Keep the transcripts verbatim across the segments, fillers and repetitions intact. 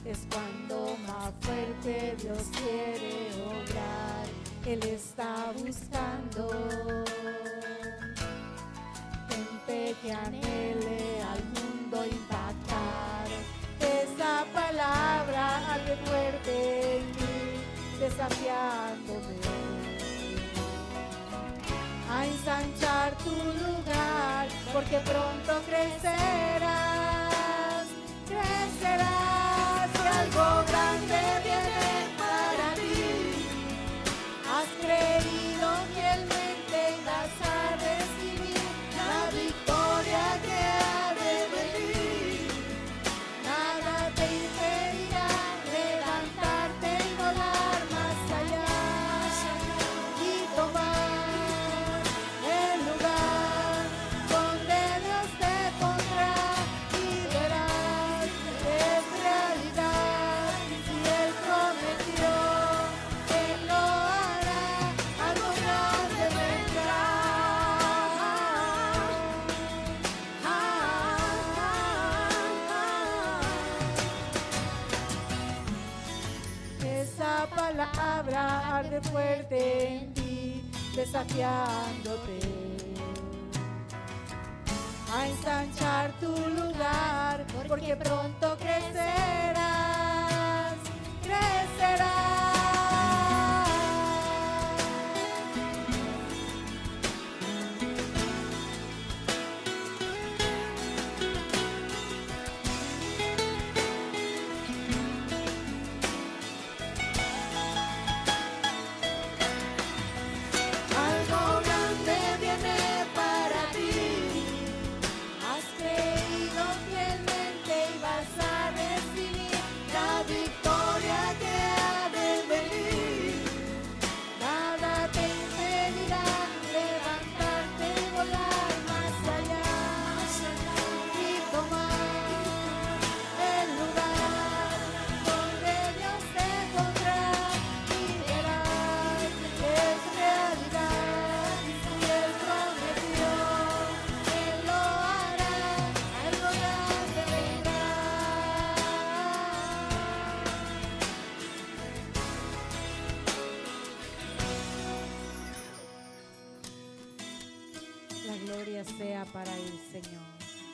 es cuando más fuerte Dios quiere obrar. Él está buscando gente que anhele al mundo impactar. Esa palabra arde fuerte en mí, desafiándome a ensanchar tu lugar, porque pronto crecerás, crecerás, y algo grande viene para ti. Has creído fielmente y vas a recibir la victoria que ha de venir. Nada te impedirá levantarte y volar más allá y tomar el lugar donde Dios te pondrá, y verás que es realidad. Si Él prometió, Él lo hará, algo grande vendrá. Ah, ah, ah. Esa palabra arde fuerte en ti, desafiándote a ensanchar tu lugar, porque pronto crecerás, crecerás. Algo grande viene para ti. Has creído fielmente y vas a recibir la victoria que ha de venir. Nada te impedirá levantarte y volar más allá y tomar el lugar donde Dios te pondrá, y verás que es realidad. Si Él prometió, Él lo hará, algo grande vendrá. La gloria sea para el Señor.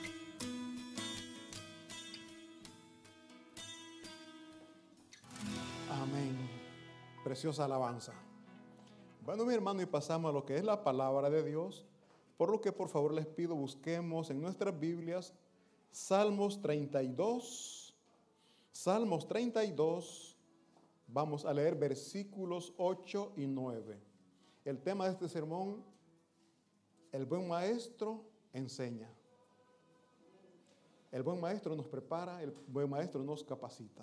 Amén. Preciosa alabanza. Bueno, mi hermano, y pasamos a lo que es la palabra de Dios, por lo que por favor les pido busquemos en nuestras Biblias Salmos treinta y dos. Salmos treinta y dos, vamos a leer versículos ocho y nueve. El tema de este sermón: el buen maestro enseña. El buen maestro nos prepara, el buen maestro nos capacita.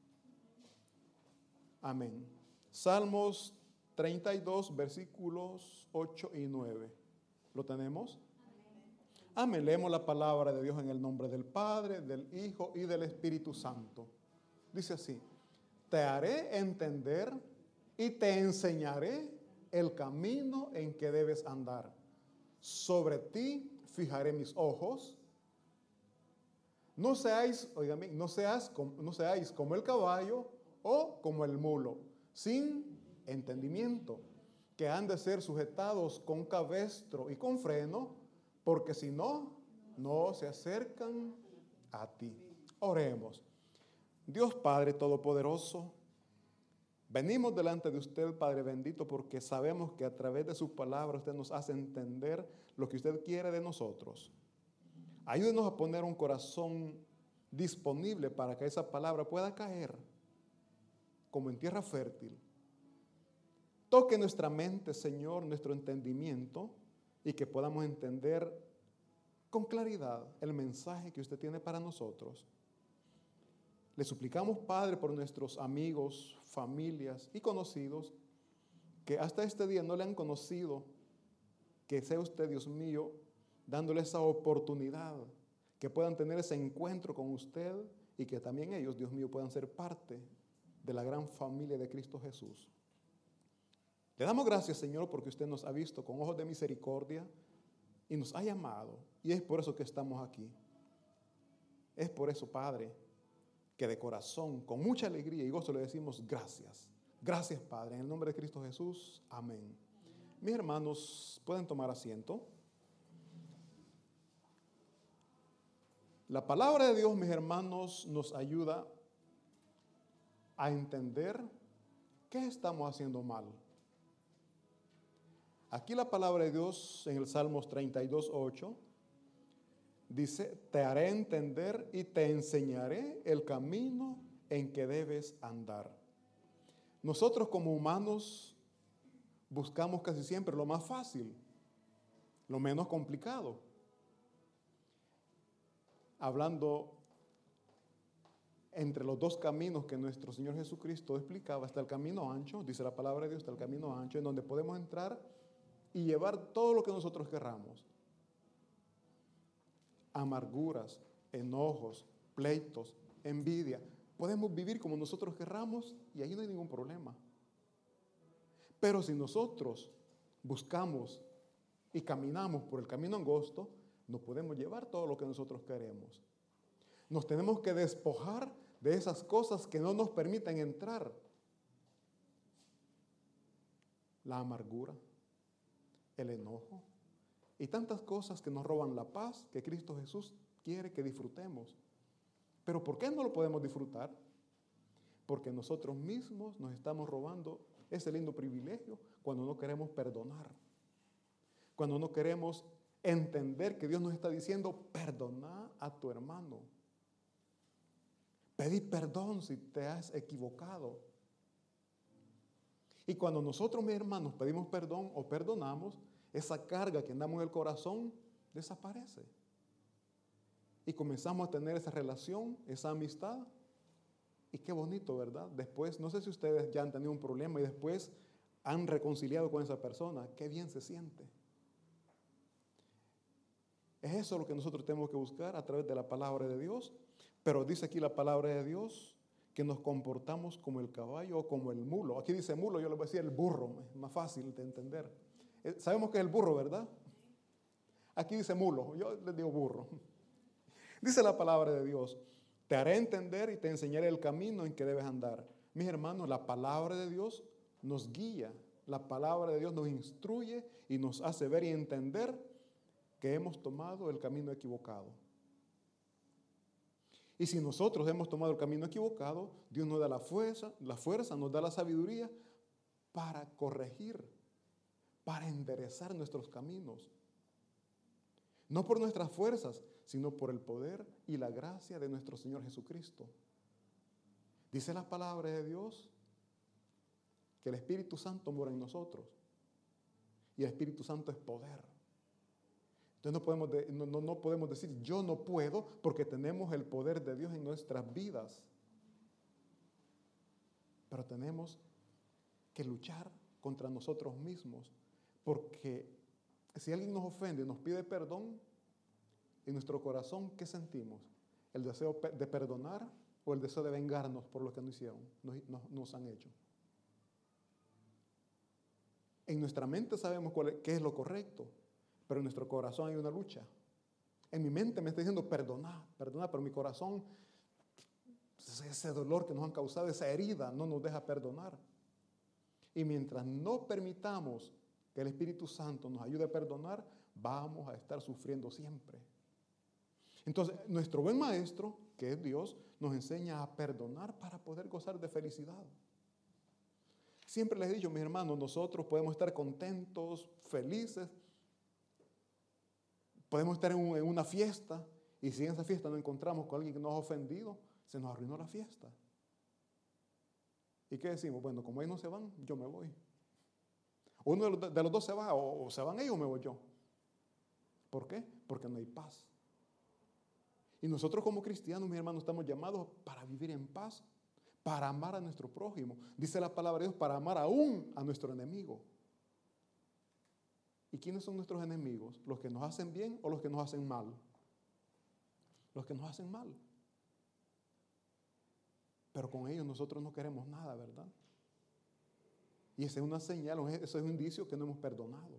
Amén. Salmos treinta y dos, versículos ocho y nueve. ¿Lo tenemos? Amén. Leemos la palabra de Dios en el nombre del Padre, del Hijo y del Espíritu Santo. Dice así: te haré entender y te enseñaré el camino en que debes andar. Sobre ti fijaré mis ojos. No seáis, oigan bien, no seas, no seáis como el caballo o como el mulo, sin entendimiento, que han de ser sujetados con cabestro y con freno, porque si no, no se acercan a ti. Oremos. Dios Padre Todopoderoso, venimos delante de usted, Padre bendito, porque sabemos que a través de su palabra usted nos hace entender lo que usted quiere de nosotros. Ayúdenos a poner un corazón disponible para que esa palabra pueda caer como en tierra fértil. Toque nuestra mente, Señor, nuestro entendimiento, y que podamos entender con claridad el mensaje que usted tiene para nosotros. Le suplicamos, Padre, por nuestros amigos, familias y conocidos que hasta este día no le han conocido, que sea usted, Dios mío, dándole esa oportunidad, que puedan tener ese encuentro con usted y que también ellos, Dios mío, puedan ser parte de la gran familia de Cristo Jesús. Le damos gracias, Señor, porque usted nos ha visto con ojos de misericordia y nos ha llamado, y es por eso que estamos aquí. Es por eso, Padre, que de corazón, con mucha alegría y gozo le decimos gracias. Gracias, Padre, en el nombre de Cristo Jesús. Amén. Mis hermanos, pueden tomar asiento. La palabra de Dios, mis hermanos, nos ayuda a entender qué estamos haciendo mal. Aquí la palabra de Dios en el Salmos treinta y dos, ocho dice, te haré entender y te enseñaré el camino en que debes andar. Nosotros como humanos buscamos casi siempre lo más fácil, lo menos complicado. Hablando entre los dos caminos que nuestro Señor Jesucristo explicaba, está el camino ancho, dice la palabra de Dios, está el camino ancho, en donde podemos entrar y llevar todo lo que nosotros querramos. Amarguras, enojos, pleitos, envidia. Podemos vivir como nosotros querramos y ahí no hay ningún problema. Pero si nosotros buscamos y caminamos por el camino angosto, no podemos llevar todo lo que nosotros queremos. Nos tenemos que despojar de esas cosas que no nos permiten entrar. La amargura, el enojo y tantas cosas que nos roban la paz que Cristo Jesús quiere que disfrutemos. Pero ¿por qué no lo podemos disfrutar? Porque nosotros mismos nos estamos robando ese lindo privilegio cuando no queremos perdonar. Cuando no queremos entender que Dios nos está diciendo, perdona a tu hermano. Pedí perdón si te has equivocado. Y cuando nosotros, mis hermanos, pedimos perdón o perdonamos, esa carga que andamos en el corazón desaparece. Y comenzamos a tener esa relación, esa amistad. Y qué bonito, ¿verdad? Después, no sé si ustedes ya han tenido un problema y después han reconciliado con esa persona. Qué bien se siente. Es eso lo que nosotros tenemos que buscar a través de la palabra de Dios. Pero dice aquí la palabra de Dios que nos comportamos como el caballo o como el mulo. Aquí dice mulo, yo le voy a decir el burro, es más fácil de entender. Sabemos que es el burro, ¿verdad? Aquí dice mulo, yo les digo burro. Dice la palabra de Dios, te haré entender y te enseñaré el camino en que debes andar. Mis hermanos, la palabra de Dios nos guía, la palabra de Dios nos instruye y nos hace ver y entender que hemos tomado el camino equivocado. Y si nosotros hemos tomado el camino equivocado, Dios nos da la fuerza, la fuerza, nos da la sabiduría para corregir, para enderezar nuestros caminos. No por nuestras fuerzas, sino por el poder y la gracia de nuestro Señor Jesucristo. Dice la palabra de Dios que el Espíritu Santo mora en nosotros. Y el Espíritu Santo es poder. Entonces no podemos, de, no, no, no podemos decir yo no puedo porque tenemos el poder de Dios en nuestras vidas. Pero tenemos que luchar contra nosotros mismos. Porque si alguien nos ofende y nos pide perdón, en nuestro corazón, ¿qué sentimos? ¿El deseo de perdonar o el deseo de vengarnos por lo que nos hicieron, nos, nos, nos han hecho? En nuestra mente sabemos cuál es, qué es lo correcto, pero en nuestro corazón hay una lucha. En mi mente me está diciendo perdonar, perdonar, pero mi corazón, ese dolor que nos han causado, esa herida, no nos deja perdonar. Y mientras no permitamos que el Espíritu Santo nos ayude a perdonar, vamos a estar sufriendo siempre. Entonces, nuestro buen maestro, que es Dios, nos enseña a perdonar para poder gozar de felicidad. Siempre les he dicho, mis hermanos, nosotros podemos estar contentos, felices, podemos estar en, un, en una fiesta y si en esa fiesta nos encontramos con alguien que nos ha ofendido, se nos arruinó la fiesta. ¿Y qué decimos? Bueno, como ellos no se van, yo me voy. Uno de los, de los dos se va, o, o se van ellos o me voy yo. ¿Por qué? Porque no hay paz. Y nosotros como cristianos, mis hermanos, estamos llamados para vivir en paz, para amar a nuestro prójimo. Dice la palabra de Dios, para amar aún a nuestro enemigo. ¿Y quiénes son nuestros enemigos? ¿Los que nos hacen bien o los que nos hacen mal? Los que nos hacen mal. Pero con ellos nosotros no queremos nada, ¿verdad? Y esa es una señal, eso es un indicio que no hemos perdonado.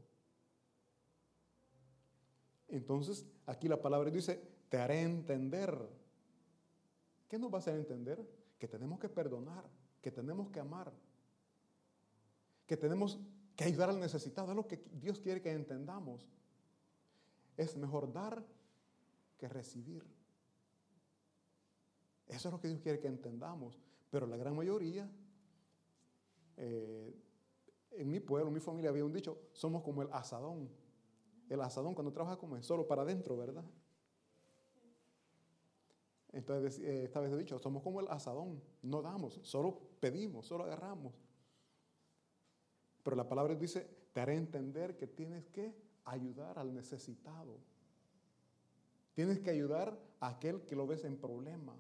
Entonces, aquí la palabra dice, te haré entender ¿Qué nos va a hacer entender? Que tenemos que perdonar, que tenemos que amar, que tenemos que ayudar al necesitado. Es lo que Dios quiere que entendamos. Es mejor dar que recibir. Eso es lo que Dios quiere que entendamos. Pero la gran mayoría, eh, en mi pueblo, en mi familia había un dicho, somos como el asadón. El asadón cuando trabaja como es solo para adentro, ¿verdad? Entonces, eh, esta vez he dicho, somos como el asadón, no damos, solo pedimos, solo agarramos. Pero la palabra dice, te haré entender que tienes que ayudar al necesitado. Tienes que ayudar a aquel que lo ves en problema.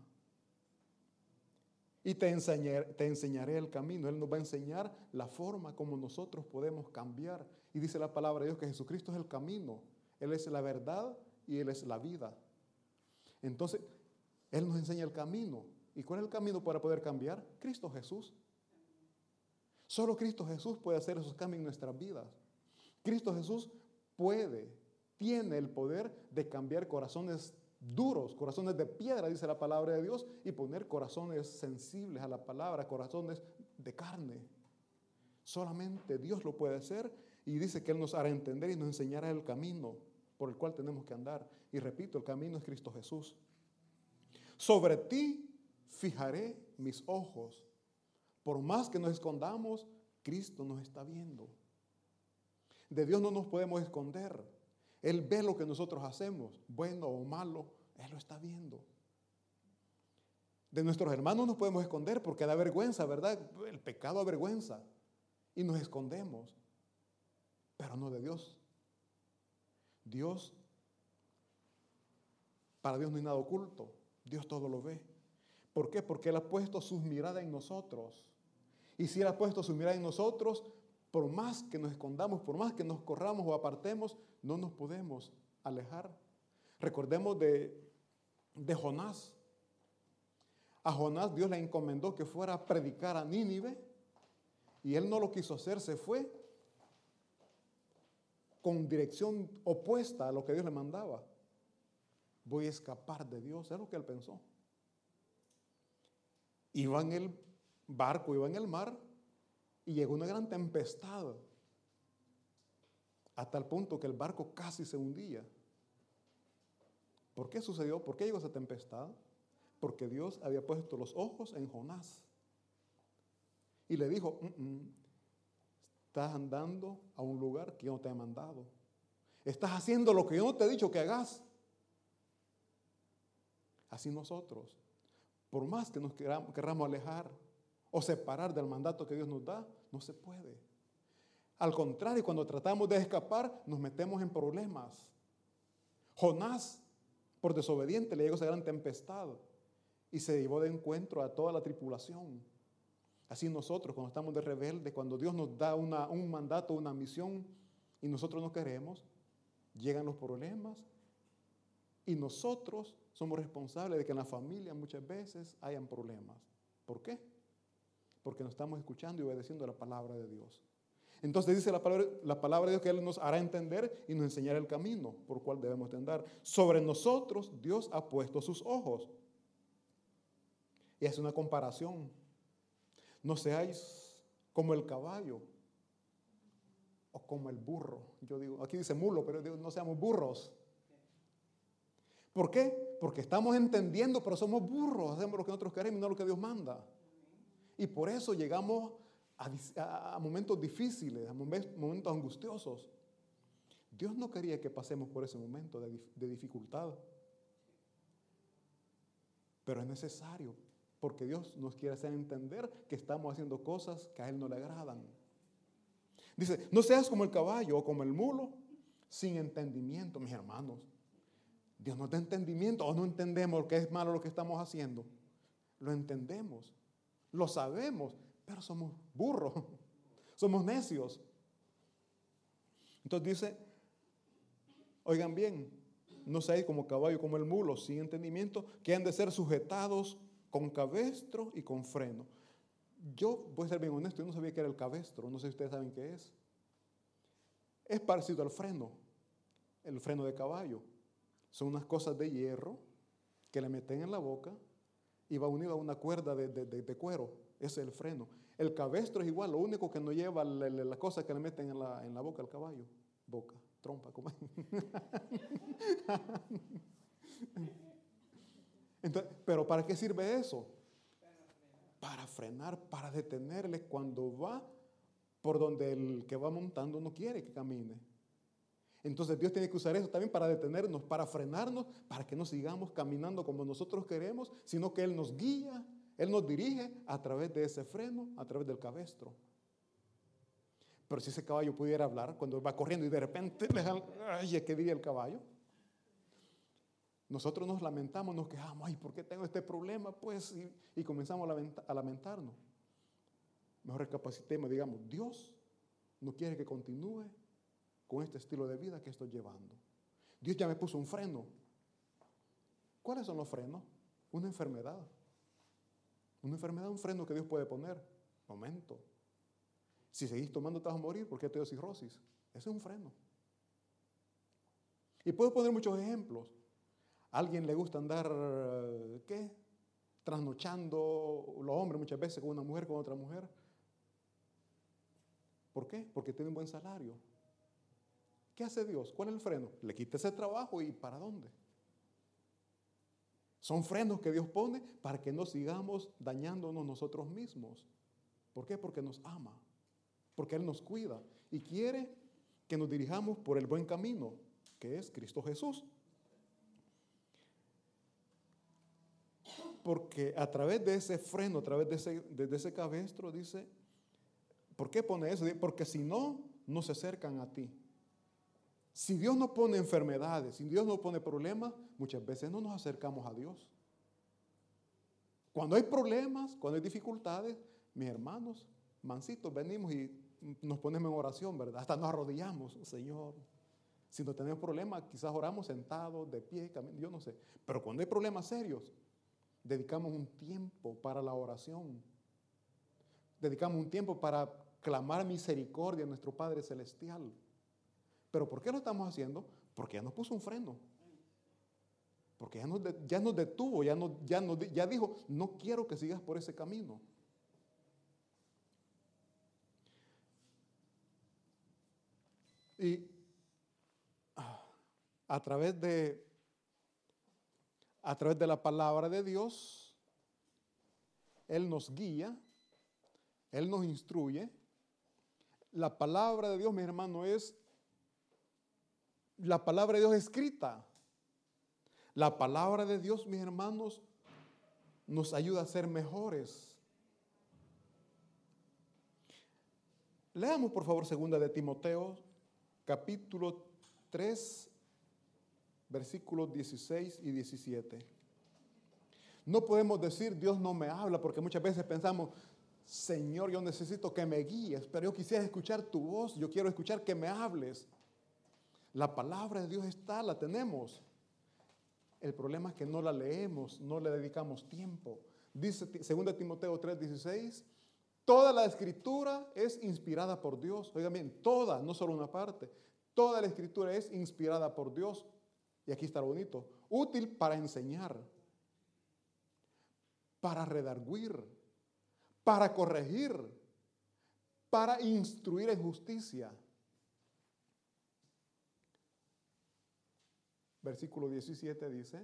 Y te enseñaré, te enseñaré el camino. Él nos va a enseñar la forma como nosotros podemos cambiar. Y dice la palabra de Dios que Jesucristo es el camino. Él es la verdad y Él es la vida. Entonces, Él nos enseña el camino. ¿Y cuál es el camino para poder cambiar? Cristo Jesús. Solo Cristo Jesús puede hacer esos cambios en nuestras vidas. Cristo Jesús puede, tiene el poder de cambiar corazones duros, corazones de piedra, dice la palabra de Dios, y poner corazones sensibles a la palabra, corazones de carne. Solamente Dios lo puede hacer y dice que Él nos hará entender y nos enseñará el camino por el cual tenemos que andar. Y repito, el camino es Cristo Jesús. Sobre ti fijaré mis ojos. Por más que nos escondamos, Cristo nos está viendo. De Dios no nos podemos esconder. Él ve lo que nosotros hacemos, bueno o malo, Él lo está viendo. De nuestros hermanos nos podemos esconder porque da vergüenza, ¿verdad? El pecado avergüenza y nos escondemos, pero no de Dios. Dios, para Dios no hay nada oculto, Dios todo lo ve. ¿Por qué? Porque Él ha puesto su mirada en nosotros. Y si Él ha puesto su mirada en nosotros, por más que nos escondamos, por más que nos corramos o apartemos, no nos podemos alejar. Recordemos de, de Jonás. A Jonás Dios le encomendó que fuera a predicar a Nínive y él no lo quiso hacer, se fue con dirección opuesta a lo que Dios le mandaba. Voy a escapar de Dios, es lo que él pensó. Iba en el barco, iba en el mar y llegó una gran tempestad a tal punto que el barco casi se hundía. ¿Por qué sucedió? ¿Por qué llegó esa tempestad? Porque Dios había puesto los ojos en Jonás y le dijo, mm, mm, estás andando a un lugar que yo no te he mandado. Estás haciendo lo que yo no te he dicho que hagas. Así nosotros, por más que nos queramos, querramos alejar o separar del mandato que Dios nos da, no se puede. Al contrario, cuando tratamos de escapar, nos metemos en problemas. Jonás, por desobediente, le llegó esa gran tempestad y se llevó de encuentro a toda la tripulación. Así nosotros, cuando estamos de rebelde, cuando Dios nos da una, un mandato, una misión, y nosotros no queremos, llegan los problemas y nosotros somos responsables de que en la familia muchas veces hayan problemas. ¿Por qué? Porque no estamos escuchando y obedeciendo la palabra de Dios. Entonces dice la palabra, la palabra de Dios que Él nos hará entender y nos enseñará el camino por el cual debemos de andar. Sobre nosotros Dios ha puesto sus ojos. Y hace una comparación. No seáis como el caballo o como el burro. Yo digo, aquí dice mulo, pero digo, no seamos burros. ¿Por qué? Porque estamos entendiendo, pero somos burros. Hacemos lo que nosotros queremos y no lo que Dios manda. Y por eso llegamos a, a, a momentos difíciles, a momentos angustiosos. Dios no quería que pasemos por ese momento de, de dificultad. Pero es necesario, porque Dios nos quiere hacer entender que estamos haciendo cosas que a Él no le agradan. Dice, no seas como el caballo o como el mulo, sin entendimiento, mis hermanos. Dios nos da entendimiento o no entendemos que es malo lo que estamos haciendo. Lo entendemos, lo sabemos, pero somos burros, somos necios. Entonces dice, oigan bien, no seáis como caballo, como el mulo, sin entendimiento, que han de ser sujetados con cabestro y con freno. Yo voy a ser bien honesto, yo no sabía que era el cabestro, no sé si ustedes saben qué es. Es parecido al freno, el freno de caballo. Son unas cosas de hierro que le meten en la boca y va unido a una cuerda de, de, de, de cuero. Ese es el freno. El cabestro es igual, lo único que no lleva la, la, la cosa que le meten en la, en la boca al caballo. Boca, trompa, como Entonces, ¿pero para qué sirve eso? Para frenar, para detenerle cuando va por donde el que va montando no quiere que camine. Entonces Dios tiene que usar eso también para detenernos, para frenarnos, para que no sigamos caminando como nosotros queremos, sino que Él nos guía, Él nos dirige a través de ese freno, a través del cabestro. Pero si ese caballo pudiera hablar, cuando va corriendo y de repente, ay, ¿qué diría el caballo? Nosotros nos lamentamos, nos quejamos, ay, ¿por qué tengo este problema? Pues, y, y comenzamos a, lamenta, a lamentarnos. Mejor recapacitemos, digamos, Dios no quiere que continúe con este estilo de vida que estoy llevando. Dios ya me puso un freno. ¿Cuáles son los frenos? Una enfermedad. Una enfermedad, un freno que Dios puede poner. Momento. Si seguís tomando te vas a morir porque te dio cirrosis. Ese es un freno. Y puedo poner muchos ejemplos. A alguien le gusta andar, ¿qué? Trasnochando, los hombres muchas veces con una mujer, con otra mujer. ¿Por qué? Porque tiene un buen salario. ¿Qué hace Dios? ¿Cuál es el freno? Le quita ese trabajo y ¿para dónde? Son frenos que Dios pone para que no sigamos dañándonos nosotros mismos. ¿Por qué? Porque nos ama. Porque Él nos cuida y quiere que nos dirijamos por el buen camino, que es Cristo Jesús. Porque a través de ese freno, a través de ese, de, de ese cabestro, dice, ¿por qué pone eso? Porque si no, no se acercan a ti. Si Dios no pone enfermedades, si Dios no pone problemas, muchas veces no nos acercamos a Dios. Cuando hay problemas, cuando hay dificultades, mis hermanos, mansitos, venimos y nos ponemos en oración, ¿verdad? Hasta nos arrodillamos, Señor. Si no tenemos problemas, quizás oramos sentados, de pie, caminando, yo no sé. Pero cuando hay problemas serios, dedicamos un tiempo para la oración. Dedicamos un tiempo para clamar misericordia a nuestro Padre Celestial. ¿Pero por qué lo estamos haciendo? Porque ya nos puso un freno. Porque ya nos, de, ya nos detuvo, ya, nos, ya, nos, ya dijo, no quiero que sigas por ese camino. Y a través de, a través de la palabra de Dios, Él nos guía, Él nos instruye. La palabra de Dios, mi hermano, es la palabra de Dios escrita. La palabra de Dios, mis hermanos, nos ayuda a ser mejores. Leamos, por favor, segunda de Timoteo, capítulo tres, versículos dieciséis y diecisiete. No podemos decir, Dios no me habla, porque muchas veces pensamos, Señor, yo necesito que me guíes, pero yo quisiera escuchar tu voz, yo quiero escuchar que me hables. La palabra de Dios está, la tenemos. El problema es que no la leemos, no le dedicamos tiempo. Dice segunda Timoteo tres, dieciséis, toda la escritura es inspirada por Dios. Oigan bien, toda, no solo una parte. Toda la escritura es inspirada por Dios. Y aquí está lo bonito. Útil para enseñar, para redarguir, para corregir, para instruir en justicia. Versículo diecisiete dice,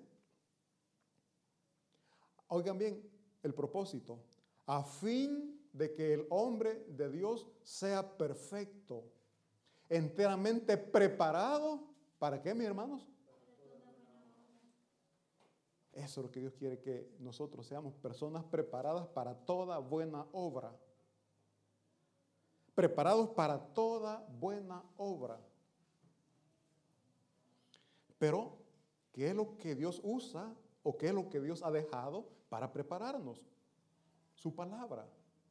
oigan bien el propósito, a fin de que el hombre de Dios sea perfecto, enteramente preparado, ¿para qué, mis hermanos? Eso es lo que Dios quiere, que nosotros seamos personas preparadas para toda buena obra. Preparados para toda buena obra. Pero, ¿qué es lo que Dios usa o qué es lo que Dios ha dejado para prepararnos? Su palabra.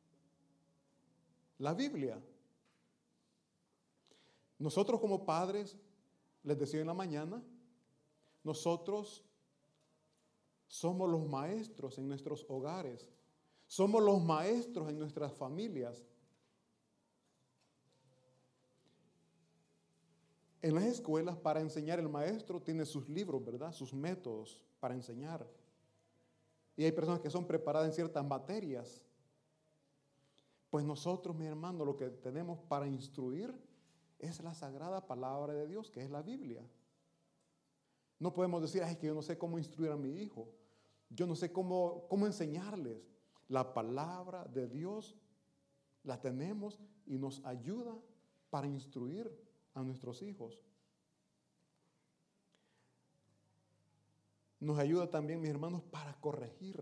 La Biblia. Nosotros como padres, les decía en la mañana, nosotros somos los maestros en nuestros hogares. Somos los maestros en nuestras familias. En las escuelas, para enseñar, el maestro tiene sus libros, ¿verdad? Sus métodos para enseñar. Y hay personas que son preparadas en ciertas materias. Pues nosotros, mi hermano, lo que tenemos para instruir es la sagrada palabra de Dios, que es la Biblia. No podemos decir, ay, es que yo no sé cómo instruir a mi hijo. Yo no sé cómo, cómo enseñarles. La palabra de Dios la tenemos y nos ayuda para instruir a nuestros hijos. Nos ayuda también, mis hermanos, para corregir.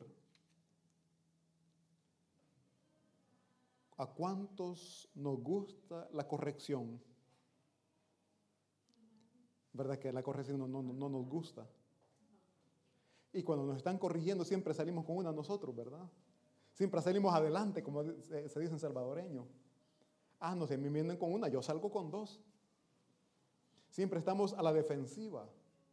¿A cuántos nos gusta la corrección? ¿Verdad que la corrección no, no, no nos gusta? Y cuando nos están corrigiendo siempre salimos con una nosotros, ¿verdad? Siempre salimos adelante, como se dice en salvadoreño. Ah, no, si me vienen con una, yo salgo con dos. Siempre estamos a la defensiva.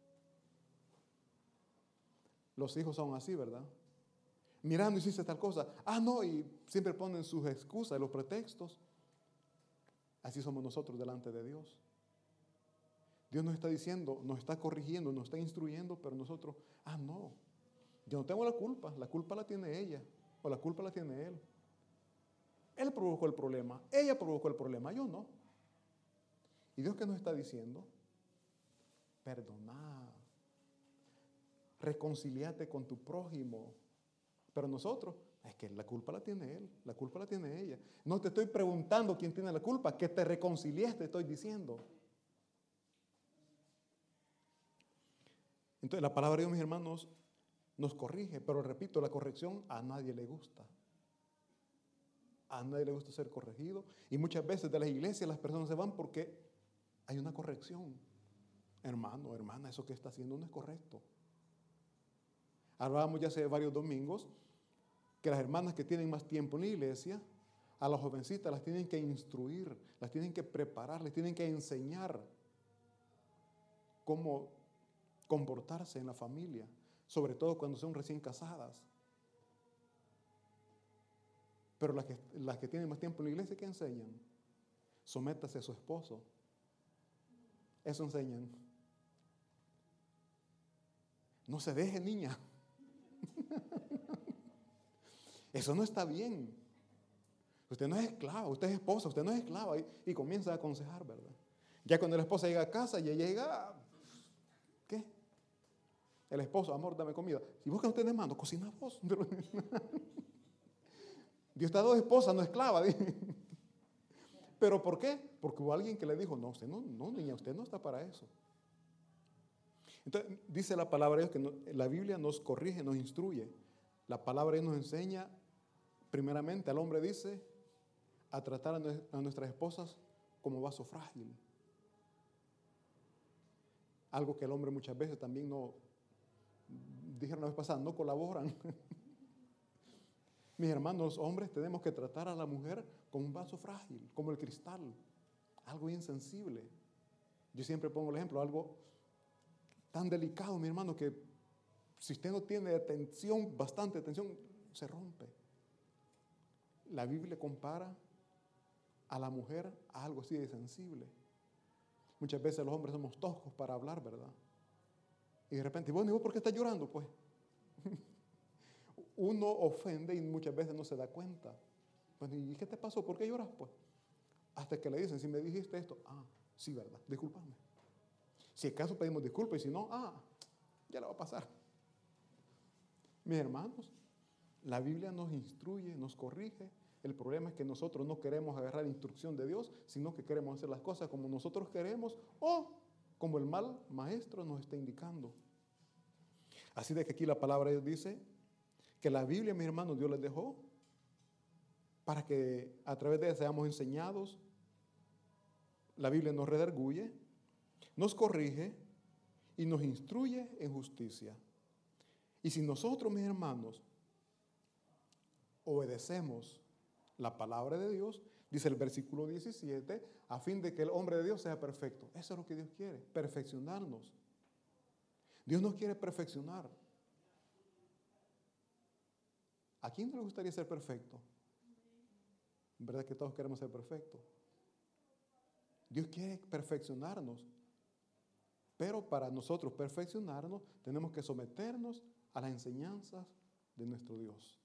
Los hijos son así, ¿verdad? Mirando, hiciste tal cosa. Ah, no, y siempre ponen sus excusas, los pretextos. Así somos nosotros delante de Dios. Dios nos está diciendo, nos está corrigiendo, nos está instruyendo, pero nosotros, ah, no, yo no tengo la culpa, la culpa la tiene ella, o la culpa la tiene él. Él provocó el problema, ella provocó el problema, yo no. ¿Y Dios qué nos está diciendo? Perdoná, reconciliate con tu prójimo. Pero nosotros, es que la culpa la tiene él, la culpa la tiene ella. No te estoy preguntando quién tiene la culpa, que te reconcilies, te estoy diciendo. Entonces la palabra de Dios, mis hermanos, nos corrige, pero repito, la corrección a nadie le gusta. A nadie le gusta ser corregido. Y muchas veces de las iglesias las personas se van porque hay una corrección. Hermano, hermana, eso que está haciendo no es correcto. Hablábamos ya hace varios domingos que las hermanas que tienen más tiempo en la iglesia, a las jovencitas las tienen que instruir, las tienen que preparar, les tienen que enseñar cómo comportarse en la familia, sobre todo cuando son recién casadas. Pero las que, las que tienen más tiempo en la iglesia, ¿qué enseñan? Sométase a su esposo. Eso enseñan. No se deje, niña. Eso no está bien. Usted no es esclava, usted es esposa, usted no es esclava. Y, y comienza a aconsejar, ¿verdad? Ya cuando la esposa llega a casa, ya llega, ¿qué? El esposo, amor, dame comida. Si vos que no tenés mano, cocina vos. Dios está dos esposas, no esclava. ¿Pero por qué? Porque hubo alguien que le dijo, no, usted no, no, niña, usted no está para eso. Entonces, dice la palabra de Dios que no, la Biblia nos corrige, nos instruye. La palabra de Dios nos enseña, primeramente, al hombre dice, a tratar a nuestras esposas como vaso frágil. Algo que el hombre muchas veces también no, dijeron la vez pasada, no colaboran. Mis hermanos, hombres, tenemos que tratar a la mujer como un vaso frágil, como el cristal, algo insensible. Yo siempre pongo el ejemplo, algo tan delicado, mi hermano, que si usted no tiene atención, bastante atención, se rompe. La Biblia compara a la mujer a algo así de sensible. Muchas veces los hombres somos toscos para hablar, ¿verdad? Y de repente, bueno, ¿y vos por qué estás llorando? Pues uno ofende y muchas veces no se da cuenta. Pues, ¿y qué te pasó? ¿Por qué lloras? Pues hasta que le dicen, si me dijiste esto, ah, sí, ¿verdad? Discúlpame. Si acaso pedimos disculpas y si no, ah, ya le va a pasar. Mis hermanos, la Biblia nos instruye, nos corrige. El problema es que nosotros no queremos agarrar instrucción de Dios, sino que queremos hacer las cosas como nosotros queremos o como el mal maestro nos está indicando. Así de que aquí la palabra de Dios dice que la Biblia, mis hermanos, Dios les dejó para que a través de ella seamos enseñados. La Biblia nos redarguye, nos corrige y nos instruye en justicia. Y si nosotros, mis hermanos, obedecemos la palabra de Dios, dice el versículo diecisiete, a fin de que el hombre de Dios sea perfecto. Eso es lo que Dios quiere, perfeccionarnos. Dios nos quiere perfeccionar. ¿A quién no le gustaría ser perfecto? ¿Verdad que todos queremos ser perfectos? Dios quiere perfeccionarnos. Pero para nosotros perfeccionarnos, tenemos que someternos a las enseñanzas de nuestro Dios.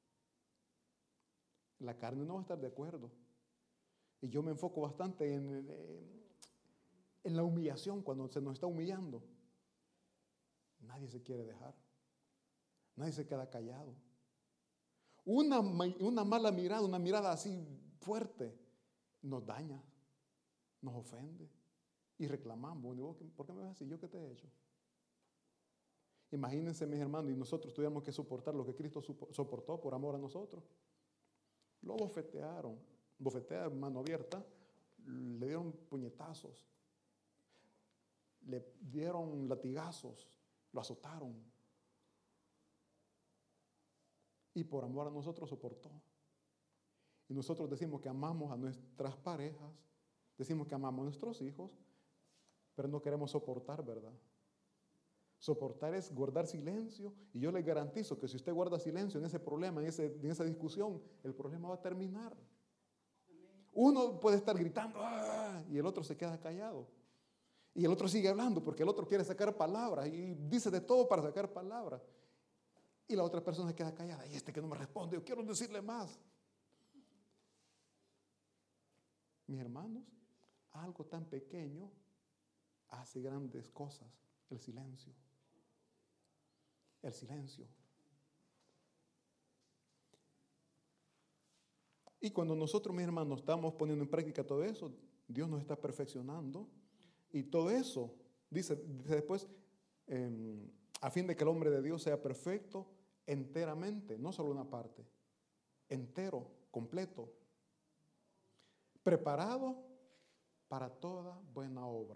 La carne no va a estar de acuerdo. Y yo me enfoco bastante en, en la humillación, cuando se nos está humillando. Nadie se quiere dejar. Nadie se queda callado. Una, una mala mirada, una mirada así fuerte, nos daña, nos ofende. Y reclamamos. ¿Por qué me ves así? ¿Yo qué te he hecho? Imagínense, mis hermanos, y nosotros tuviéramos que soportar lo que Cristo soportó por amor a nosotros. Lo bofetearon, bofetearon, mano abierta, le dieron puñetazos, le dieron latigazos, lo azotaron. Y por amor a nosotros soportó. Y nosotros decimos que amamos a nuestras parejas, decimos que amamos a nuestros hijos, pero no queremos soportar, ¿verdad? Soportar es guardar silencio, y yo le garantizo que si usted guarda silencio en ese problema, en, ese, en esa discusión, el problema va a terminar. Uno puede estar gritando ¡ah!, y el otro se queda callado. Y el otro sigue hablando porque el otro quiere sacar palabras y dice de todo para sacar palabras. Y la otra persona se queda callada. Y este que no me responde, yo quiero decirle más. Mis hermanos, algo tan pequeño hace grandes cosas. El silencio. El silencio. Y cuando nosotros, mis hermanos, estamos poniendo en práctica todo eso, Dios nos está perfeccionando. Y todo eso, dice, dice después, eh, a fin de que el hombre de Dios sea perfecto enteramente, no solo una parte, entero, completo, preparado para toda buena obra.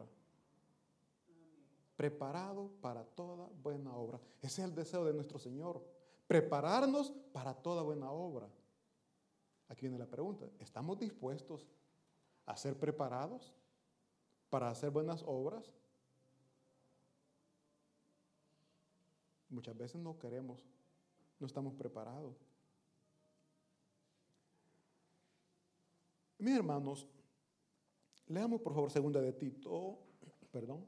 Preparado para toda buena obra. Ese es el deseo de nuestro Señor. Prepararnos para toda buena obra. Aquí viene la pregunta. ¿Estamos dispuestos a ser preparados para hacer buenas obras? Muchas veces no queremos, no estamos preparados. Mis hermanos, leamos por favor segunda de Tito, perdón.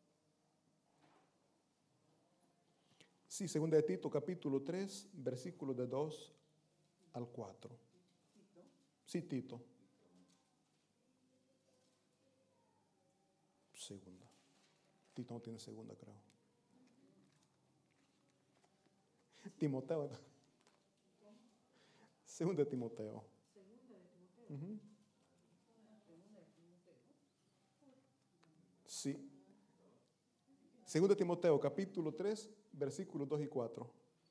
Sí, segunda de Tito, capítulo tres, versículos de dos al cuatro. Sí, Tito. Segunda. Tito no tiene segunda, creo. Timoteo. Segunda de Timoteo. Uh-huh. Sí. Segunda de Timoteo, capítulo tres, versículos dos y cuatro.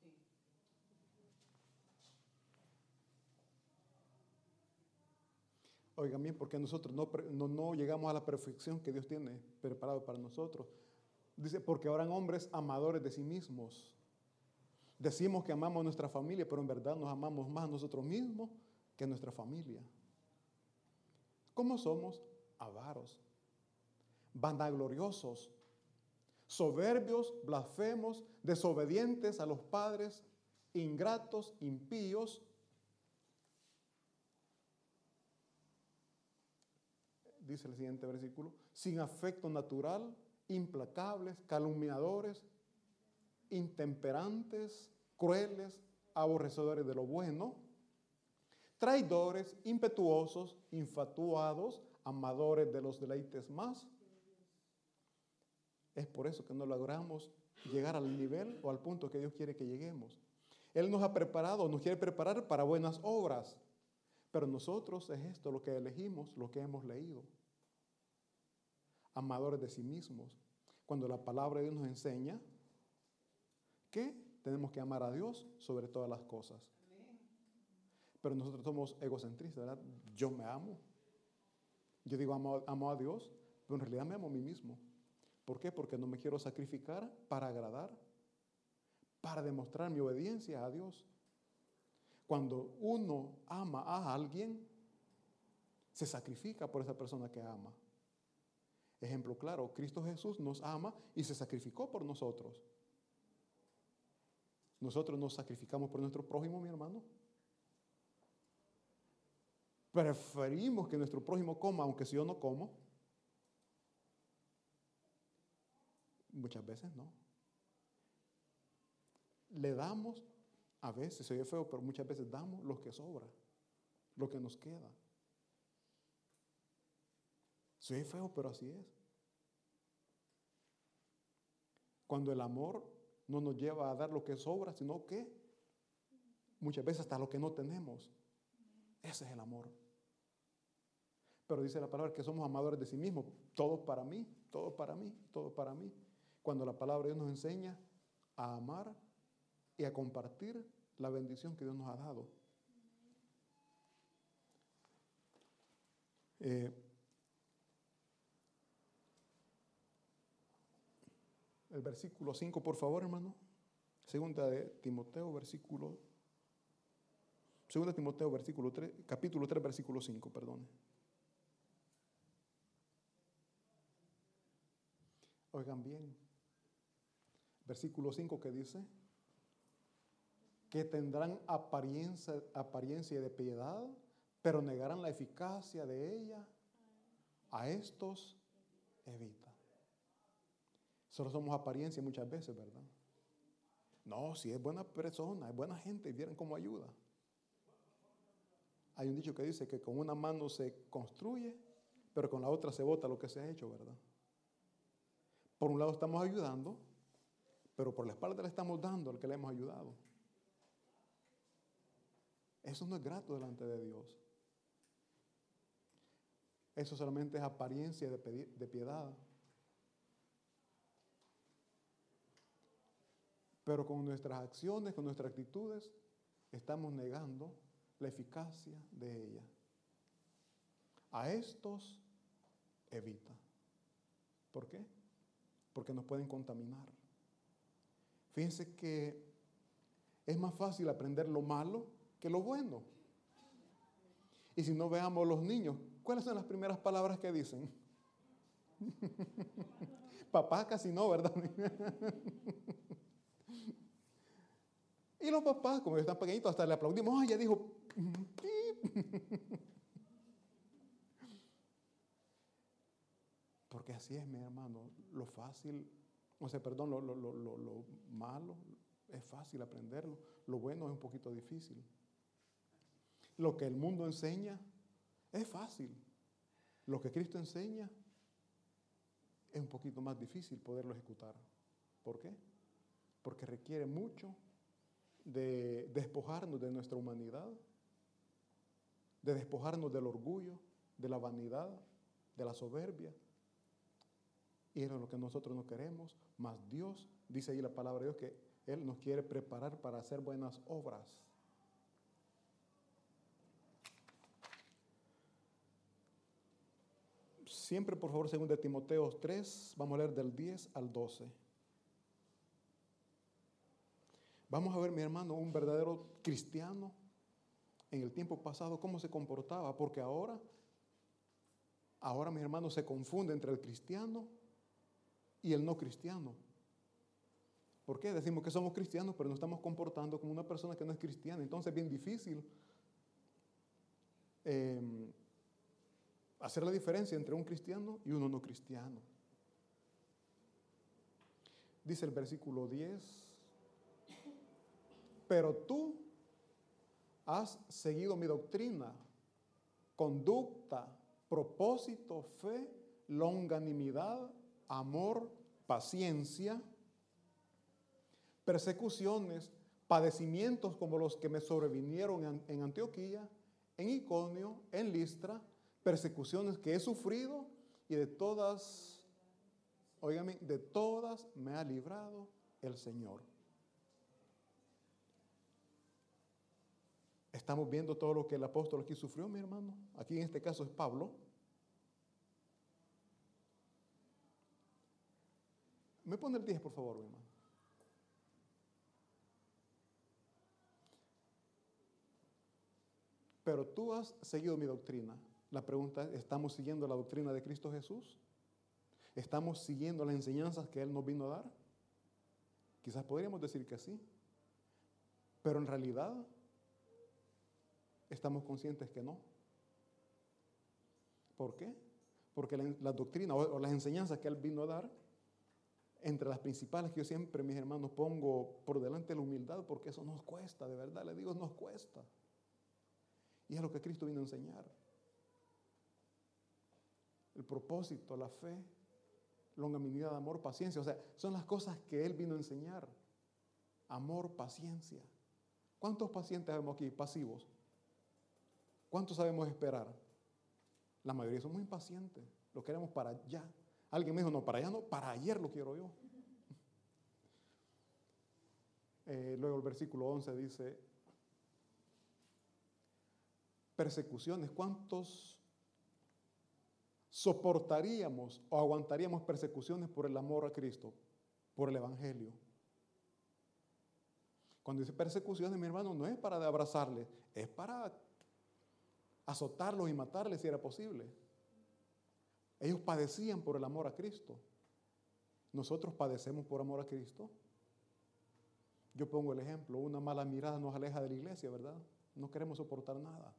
Oigan bien, porque nosotros no, no, no llegamos a la perfección que Dios tiene preparado para nosotros. Dice, porque habrán hombres amadores de sí mismos. Decimos que amamos a nuestra familia, pero en verdad nos amamos más a nosotros mismos que a nuestra familia. ¿Cómo somos? Avaros, vanagloriosos, soberbios, blasfemos, desobedientes a los padres, ingratos, impíos. Dice el siguiente versículo, sin afecto natural, implacables, calumniadores, intemperantes, crueles, aborrecedores de lo bueno, traidores, impetuosos, infatuados, amadores de los deleites más. Es por eso que no logramos llegar al nivel o al punto que Dios quiere que lleguemos. Él nos ha preparado, nos quiere preparar para buenas obras. Pero nosotros es esto lo que elegimos, lo que hemos leído. Amadores de sí mismos. Cuando la palabra de Dios nos enseña que tenemos que amar a Dios sobre todas las cosas. Pero nosotros somos egocentristas, ¿verdad? Yo me amo. Yo digo amo, amo a Dios, pero en realidad me amo a mí mismo. ¿Por qué? Porque no me quiero sacrificar para agradar, para demostrar mi obediencia a Dios. Cuando uno ama a alguien, se sacrifica por esa persona que ama. Ejemplo claro, Cristo Jesús nos ama y se sacrificó por nosotros. Nosotros nos sacrificamos por nuestro prójimo, mi hermano. Preferimos que nuestro prójimo coma, aunque si yo no como. Muchas veces no. Le damos A veces se oye feo, pero muchas veces damos lo que sobra, lo que nos queda. Se oye feo, pero así es. Cuando el amor no nos lleva a dar lo que sobra, sino que muchas veces hasta lo que no tenemos. Ese es el amor. Pero dice la palabra que somos amadores de sí mismos. Todo para mí, todo para mí, todo para mí. Cuando la palabra de Dios nos enseña a amar y a compartir la bendición que Dios nos ha dado. Eh, el versículo cinco, por favor, hermano. Segunda de Timoteo, versículo. Segunda de Timoteo, versículo tres, capítulo tres, versículo cinco, perdón. Oigan bien. Versículo cinco que dice que tendrán apariencia, apariencia de piedad, pero negarán la eficacia de ella. A estos evita. Solo somos apariencia muchas veces, ¿verdad? No, si es buena persona, es buena gente, vieran cómo ayuda. Hay un dicho que dice que con una mano se construye, pero con la otra se bota lo que se ha hecho, ¿verdad? Por un lado estamos ayudando, pero por la espalda le estamos dando al que le hemos ayudado. Eso no es grato delante de Dios. Eso solamente es apariencia de, de piedad. Pero con nuestras acciones, con nuestras actitudes, estamos negando la eficacia de ella. A estos evita. ¿Por qué? Porque nos pueden contaminar. Fíjense que es más fácil aprender lo malo que lo bueno. Y si no, veamos los niños, ¿cuáles son las primeras palabras que dicen? Papá casi no, ¿verdad? Y los papás, como están pequeñitos, hasta le aplaudimos. ¡Ay, ya dijo! Porque así es, mi hermano. Lo fácil, o sea, perdón, lo, lo, lo, lo, lo malo es fácil aprenderlo. Lo bueno es un poquito difícil. Lo que el mundo enseña es fácil. Lo que Cristo enseña es un poquito más difícil poderlo ejecutar. ¿Por qué? Porque requiere mucho de despojarnos de nuestra humanidad, de despojarnos del orgullo, de la vanidad, de la soberbia. Y eso es lo que nosotros no queremos. Mas Dios, dice ahí la palabra de Dios, que Él nos quiere preparar para hacer buenas obras. Siempre, por favor, según de Timoteo tres, vamos a leer del diez al doce. Vamos a ver, mi hermano, un verdadero cristiano en el tiempo pasado, cómo se comportaba, porque ahora, ahora, mi hermano, se confunde entre el cristiano y el no cristiano. ¿Por qué? Decimos que somos cristianos, pero nos estamos comportando como una persona que no es cristiana. Entonces es bien difícil eh, hacer la diferencia entre un cristiano y uno no cristiano. Dice el versículo diez, pero tú has seguido mi doctrina, conducta, propósito, fe, longanimidad, amor, paciencia, persecuciones, padecimientos como los que me sobrevinieron en Antioquía, en Iconio, en Listra, persecuciones que he sufrido y de todas, óigame, de todas me ha librado el Señor. Estamos viendo todo lo que el apóstol aquí sufrió, mi hermano. Aquí en este caso es Pablo. ¿Me pone el diez, por favor, mi hermano? Pero tú has seguido mi doctrina. La pregunta es, ¿estamos siguiendo la doctrina de Cristo Jesús? ¿Estamos siguiendo las enseñanzas que Él nos vino a dar? Quizás podríamos decir que sí. Pero en realidad estamos conscientes que no. ¿Por qué? Porque la, la doctrina o, o las enseñanzas que Él vino a dar entre las principales que yo siempre, mis hermanos, pongo por delante la humildad, porque eso nos cuesta, de verdad, le digo, nos cuesta. Y es lo que Cristo vino a enseñar. El propósito, la fe, longanimidad, amor, paciencia. O sea, son las cosas que Él vino a enseñar. Amor, paciencia. ¿Cuántos pacientes vemos aquí? Pasivos. ¿Cuántos sabemos esperar? La mayoría somos impacientes. Lo queremos para ya. Alguien me dijo, no, para allá no, para ayer lo quiero yo. Eh, luego el versículo once dice, persecuciones. ¿Cuántos soportaríamos o aguantaríamos persecuciones por el amor a Cristo, por el Evangelio? Cuando dice persecuciones, mi hermano, no es para abrazarles, es para azotarlos y matarles si era posible. Ellos padecían por el amor a Cristo. Nosotros padecemos por amor a Cristo. Yo pongo el ejemplo, una mala mirada nos aleja de la iglesia, ¿verdad? No queremos soportar nada.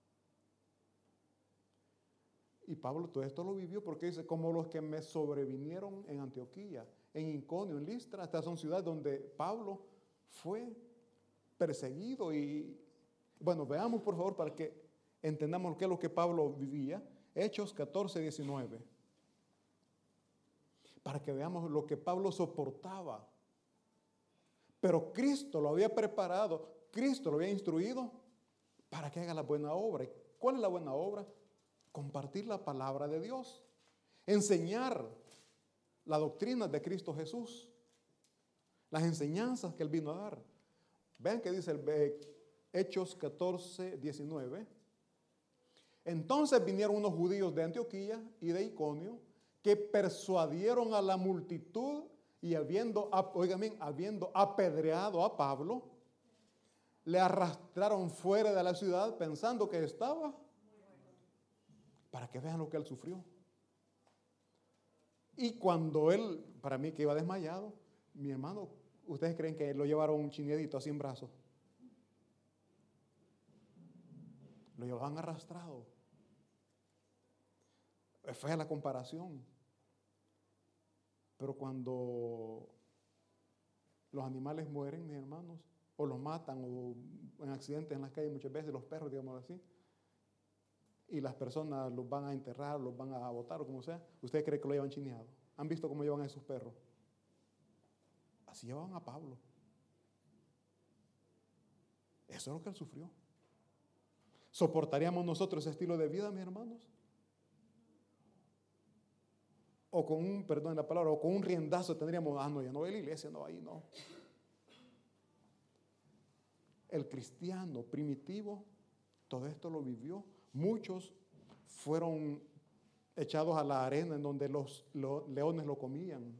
Y Pablo todo esto lo vivió porque dice, como los que me sobrevinieron en Antioquía, en Iconio, en Listra. Estas son ciudades donde Pablo fue perseguido. Y bueno, veamos por favor para que entendamos qué es lo que Pablo vivía. Hechos catorce, diecinueve. Para que veamos lo que Pablo soportaba. Pero Cristo lo había preparado, Cristo lo había instruido para que haga la buena obra. ¿Cuál es la buena obra? Compartir la palabra de Dios. Enseñar la doctrina de Cristo Jesús. Las enseñanzas que Él vino a dar. Vean que dice el Hechos catorce, diecinueve. Entonces vinieron unos judíos de Antioquía y de Iconio que persuadieron a la multitud y habiendo, oigan bien, habiendo apedreado a Pablo, le arrastraron fuera de la ciudad pensando que estaba, para que vean lo que él sufrió. Y cuando él, para mí que iba desmayado, mi hermano, ¿ustedes creen que lo llevaron un chineadito así en brazos? Lo llevaban arrastrado. Fue a la comparación. Pero cuando los animales mueren, mis hermanos, o los matan, o en accidentes en las calles muchas veces, los perros, digamos así, y las personas los van a enterrar, los van a botar o como sea, ¿ustedes creen que lo llevan chineado? ¿Han visto cómo llevan a esos perros? Así llevaban a Pablo. Eso es lo que él sufrió. ¿Soportaríamos nosotros ese estilo de vida, mis hermanos? O con un, perdón la palabra, o con un riendazo tendríamos, ah, no, ya no voy a la iglesia, no, ahí no. El cristiano primitivo, todo esto lo vivió. Muchos fueron echados a la arena en donde los, los leones lo comían.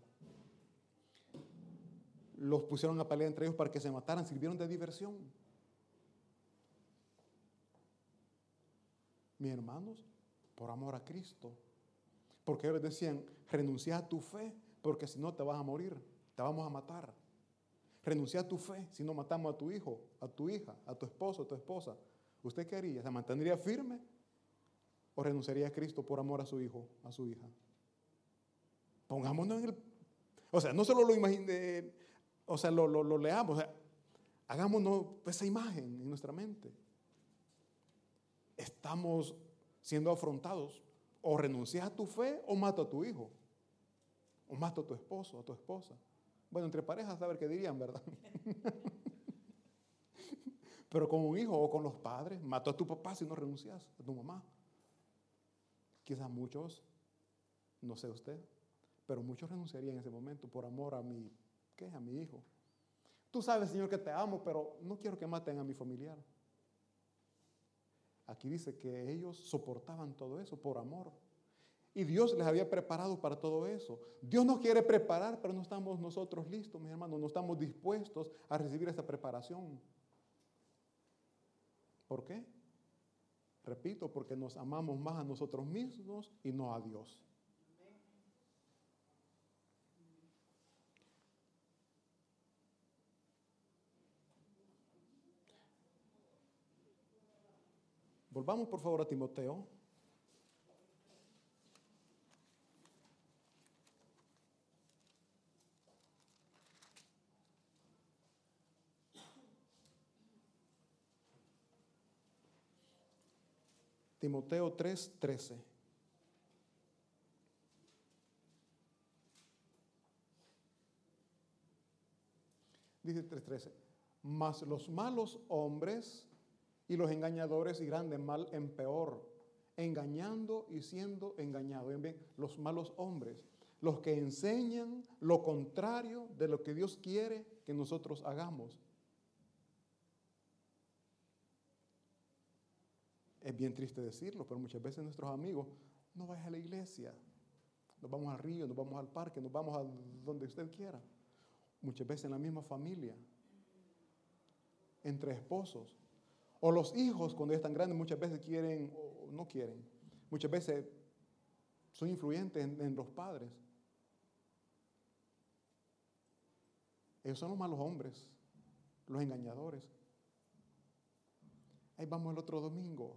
Los pusieron a pelear entre ellos para que se mataran, sirvieron de diversión. Mis hermanos, por amor a Cristo. Porque ellos decían, renuncia a tu fe, porque si no te vas a morir, te vamos a matar. Renuncia a tu fe, si no matamos a tu hijo, a tu hija, a tu esposo, a tu esposa. ¿Usted qué haría? ¿Se mantendría firme o renunciaría a Cristo por amor a su hijo, a su hija? Pongámonos en el... O sea, no solo lo imagine, o sea, lo, lo, lo leamos, o sea, hagámonos esa imagen en nuestra mente. Estamos siendo afrontados. O renuncias a tu fe o mato a tu hijo. O mato a tu esposo, a tu esposa. Bueno, entre parejas, a ver qué dirían, ¿verdad? Pero con un hijo o con los padres, mato a tu papá si no renuncias, a tu mamá. Quizás muchos, no sé usted, pero muchos renunciarían en ese momento por amor a mi, ¿qué? A mi hijo. Tú sabes, Señor, que te amo, pero no quiero que maten a mi familiar. Aquí dice que ellos soportaban todo eso por amor. Y Dios les había preparado para todo eso. Dios nos quiere preparar, pero no estamos nosotros listos, mis hermanos. No estamos dispuestos a recibir esa preparación. ¿Por qué? Repito, porque nos amamos más a nosotros mismos y no a Dios. Volvamos por favor a Timoteo. Timoteo tres, trece. Dice tres, trece. Mas los malos hombres y los engañadores irán de mal en peor, engañando y siendo engañados. Ven bien, los malos hombres, los que enseñan lo contrario de lo que Dios quiere que nosotros hagamos. Es bien triste decirlo, pero muchas veces nuestros amigos, no vayas a la iglesia, nos vamos al río, nos vamos al parque, nos vamos a donde usted quiera. Muchas veces en la misma familia, entre esposos, o los hijos cuando están grandes muchas veces quieren o no quieren, muchas veces son influyentes en, en los padres. Ellos son los malos hombres, los engañadores. Ahí vamos el otro domingo.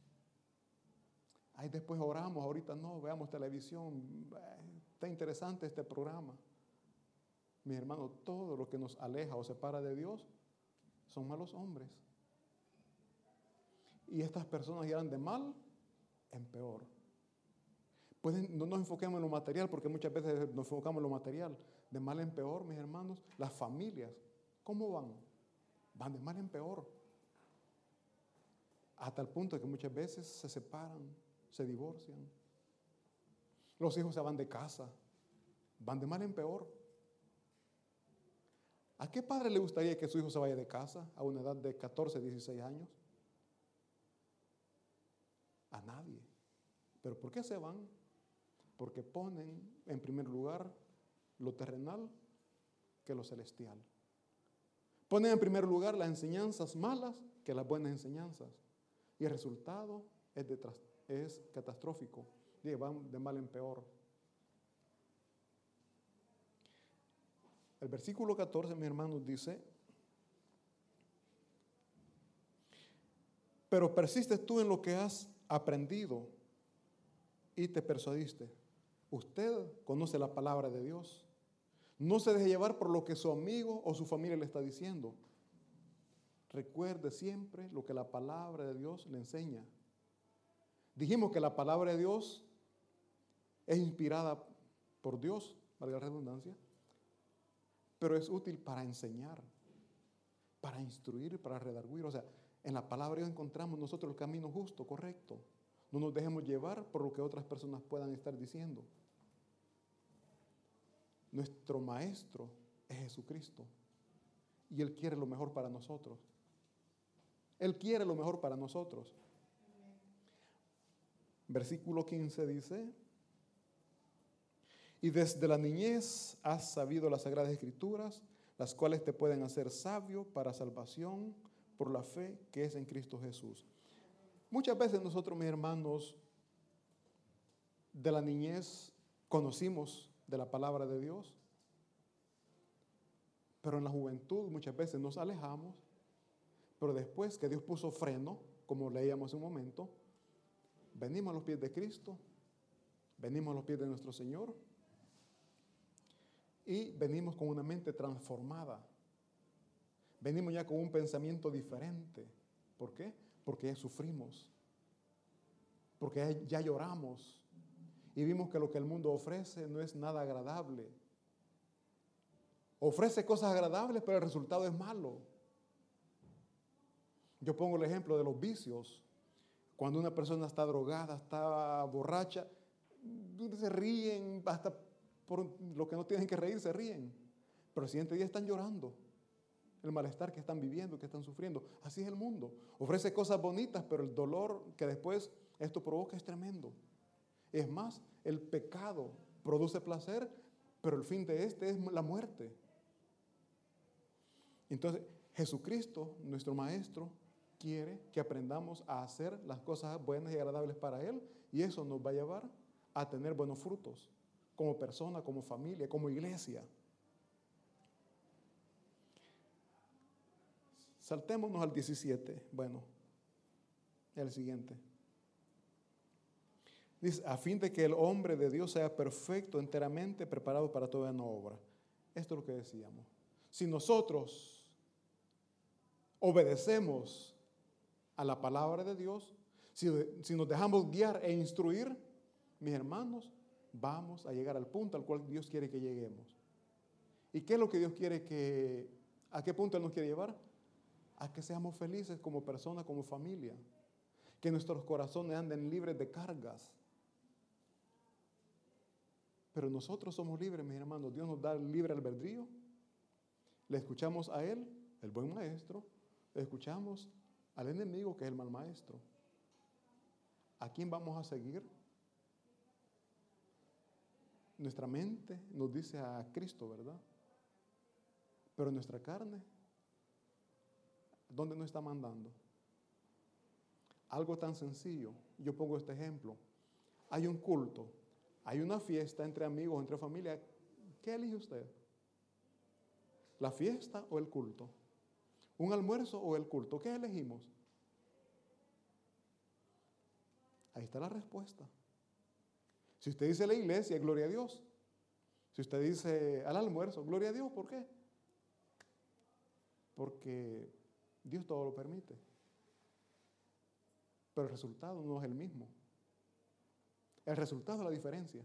Ahí después oramos, ahorita no, veamos televisión. Está interesante este programa. Mis hermanos, todo lo que nos aleja o separa de Dios son malos hombres. Y estas personas irán de mal en peor. Pueden, no nos enfoquemos en lo material, porque muchas veces nos enfocamos en lo material. De mal en peor, mis hermanos, las familias, ¿cómo van? Van de mal en peor. Hasta el punto de que muchas veces se separan, se divorcian. Los hijos se van de casa, van de mal en peor. ¿A qué padre le gustaría que su hijo se vaya de casa a una edad de catorce, dieciséis años? A nadie. ¿Pero por qué se van? Porque ponen en primer lugar lo terrenal que lo celestial. Ponen en primer lugar las enseñanzas malas que las buenas enseñanzas. Y el resultado es, de, es catastrófico. Y van de mal en peor. El versículo catorce, mis hermanos, dice: pero persistes tú en lo que has aprendido y te persuadiste. Usted conoce la palabra de Dios. No se deje llevar por lo que su amigo o su familia le está diciendo. Recuerde siempre lo que la palabra de Dios le enseña. Dijimos que la palabra de Dios es inspirada por Dios, valga la redundancia, pero es útil para enseñar, para instruir, para redarguir. O sea, en la palabra de Dios encontramos nosotros el camino justo, correcto. No nos dejemos llevar por lo que otras personas puedan estar diciendo. Nuestro maestro es Jesucristo y Él quiere lo mejor para nosotros. Él quiere lo mejor para nosotros. Versículo quince dice: y desde la niñez has sabido las Sagradas Escrituras, las cuales te pueden hacer sabio para salvación por la fe que es en Cristo Jesús. Muchas veces nosotros, mis hermanos, de la niñez conocimos de la palabra de Dios, pero en la juventud muchas veces nos alejamos, pero después que Dios puso freno, como leíamos hace un momento, venimos a los pies de Cristo, venimos a los pies de nuestro Señor y venimos con una mente transformada. Venimos ya con un pensamiento diferente. ¿Por qué? Porque ya sufrimos, porque ya lloramos y vimos que lo que el mundo ofrece no es nada agradable. Ofrece cosas agradables, pero el resultado es malo. Yo pongo el ejemplo de los vicios. Cuando una persona está drogada, está borracha, se ríen, hasta por lo que no tienen que reír, se ríen. Pero el siguiente día están llorando. El malestar que están viviendo, que están sufriendo. Así es el mundo. Ofrece cosas bonitas, pero el dolor que después esto provoca es tremendo. Es más, el pecado produce placer, pero el fin de este es la muerte. Entonces, Jesucristo, nuestro Maestro, quiere que aprendamos a hacer las cosas buenas y agradables para Él, y eso nos va a llevar a tener buenos frutos, como persona, como familia, como iglesia. Saltémonos al diecisiete, bueno, el siguiente. Dice, a fin de que el hombre de Dios sea perfecto, enteramente preparado para toda buena obra. Esto es lo que decíamos. Si nosotros obedecemos a la palabra de Dios, Si, si nos dejamos guiar e instruir, mis hermanos, vamos a llegar al punto al cual Dios quiere que lleguemos. ¿Y qué es lo que Dios quiere que, a qué punto Él nos quiere llevar? A que seamos felices como personas, como familia. Que nuestros corazones anden libres de cargas. Pero nosotros somos libres, mis hermanos. Dios nos da el libre albedrío. Le escuchamos a Él, el buen maestro. Le escuchamos al enemigo, que es el mal maestro. ¿A quién vamos a seguir? Nuestra mente nos dice a Cristo, ¿verdad? Pero nuestra carne, ¿dónde nos está mandando? Algo tan sencillo. Yo pongo este ejemplo. Hay un culto, hay una fiesta entre amigos, entre familia. ¿Qué elige usted? ¿La fiesta o el culto? ¿Un almuerzo o el culto? ¿Qué elegimos? Ahí está la respuesta. Si usted dice la iglesia, gloria a Dios. Si usted dice al almuerzo, gloria a Dios. ¿Por qué? Porque Dios todo lo permite. Pero el resultado no es el mismo. El resultado es la diferencia.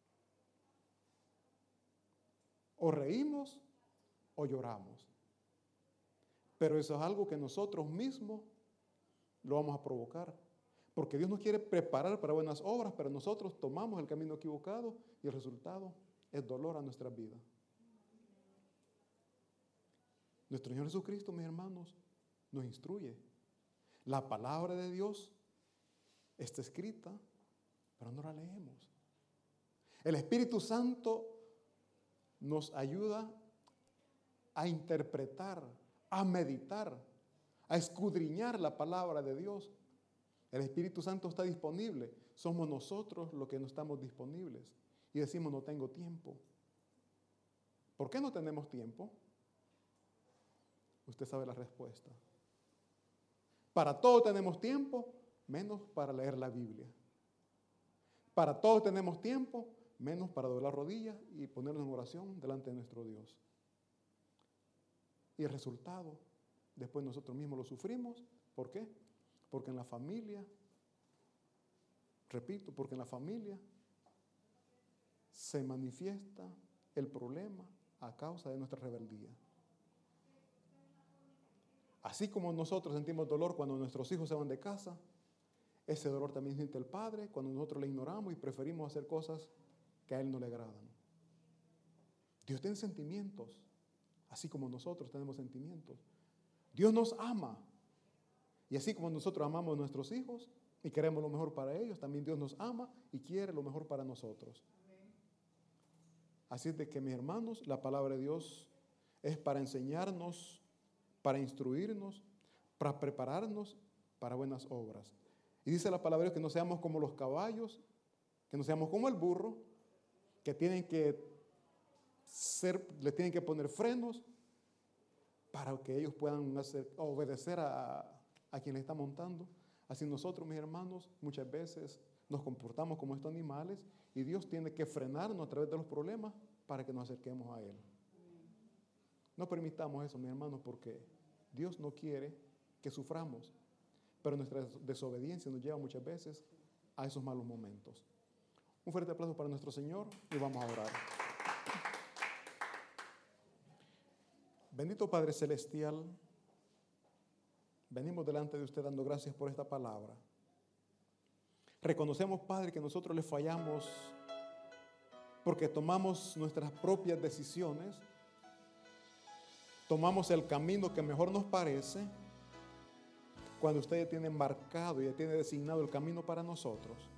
O reímos o lloramos. Pero eso es algo que nosotros mismos lo vamos a provocar. Porque Dios nos quiere preparar para buenas obras, pero nosotros tomamos el camino equivocado y el resultado es dolor a nuestras vidas. Nuestro Señor Jesucristo, mis hermanos, nos instruye. La palabra de Dios está escrita, pero no la leemos. El Espíritu Santo nos ayuda a interpretar, a meditar, a escudriñar la palabra de Dios. El Espíritu Santo está disponible. Somos nosotros los que no estamos disponibles. Y decimos, no tengo tiempo. ¿Por qué no tenemos tiempo? Usted sabe la respuesta. Para todo tenemos tiempo, menos para leer la Biblia. Para todo tenemos tiempo, menos para doblar rodillas y ponernos en oración delante de nuestro Dios. Y el resultado, después nosotros mismos lo sufrimos. ¿Por qué? Porque en la familia, repito, porque en la familia se manifiesta el problema a causa de nuestra rebeldía. Así como nosotros sentimos dolor cuando nuestros hijos se van de casa, ese dolor también siente el padre cuando nosotros le ignoramos y preferimos hacer cosas que a él no le agradan. Dios tiene sentimientos, así como nosotros tenemos sentimientos. Dios nos ama. Y así como nosotros amamos a nuestros hijos y queremos lo mejor para ellos, también Dios nos ama y quiere lo mejor para nosotros. Así es de que, mis hermanos, la palabra de Dios es para enseñarnos, para instruirnos, para prepararnos para buenas obras. Y dice la palabra de Dios que no seamos como los caballos, que no seamos como el burro, que tienen que ser, le tienen que poner frenos para que ellos puedan hacer, obedecer a, a quien le está montando. Así nosotros, mis hermanos, muchas veces nos comportamos como estos animales y Dios tiene que frenarnos a través de los problemas para que nos acerquemos a Él. No permitamos eso, mis hermanos, porque Dios no quiere que suframos, pero nuestra desobediencia nos lleva muchas veces a esos malos momentos. Un fuerte aplauso para nuestro Señor y vamos a orar. Bendito Padre Celestial, venimos delante de usted dando gracias por esta palabra. Reconocemos, Padre, que nosotros le fallamos porque tomamos nuestras propias decisiones, tomamos el camino que mejor nos parece, cuando usted ya tiene marcado y ya tiene designado el camino para nosotros.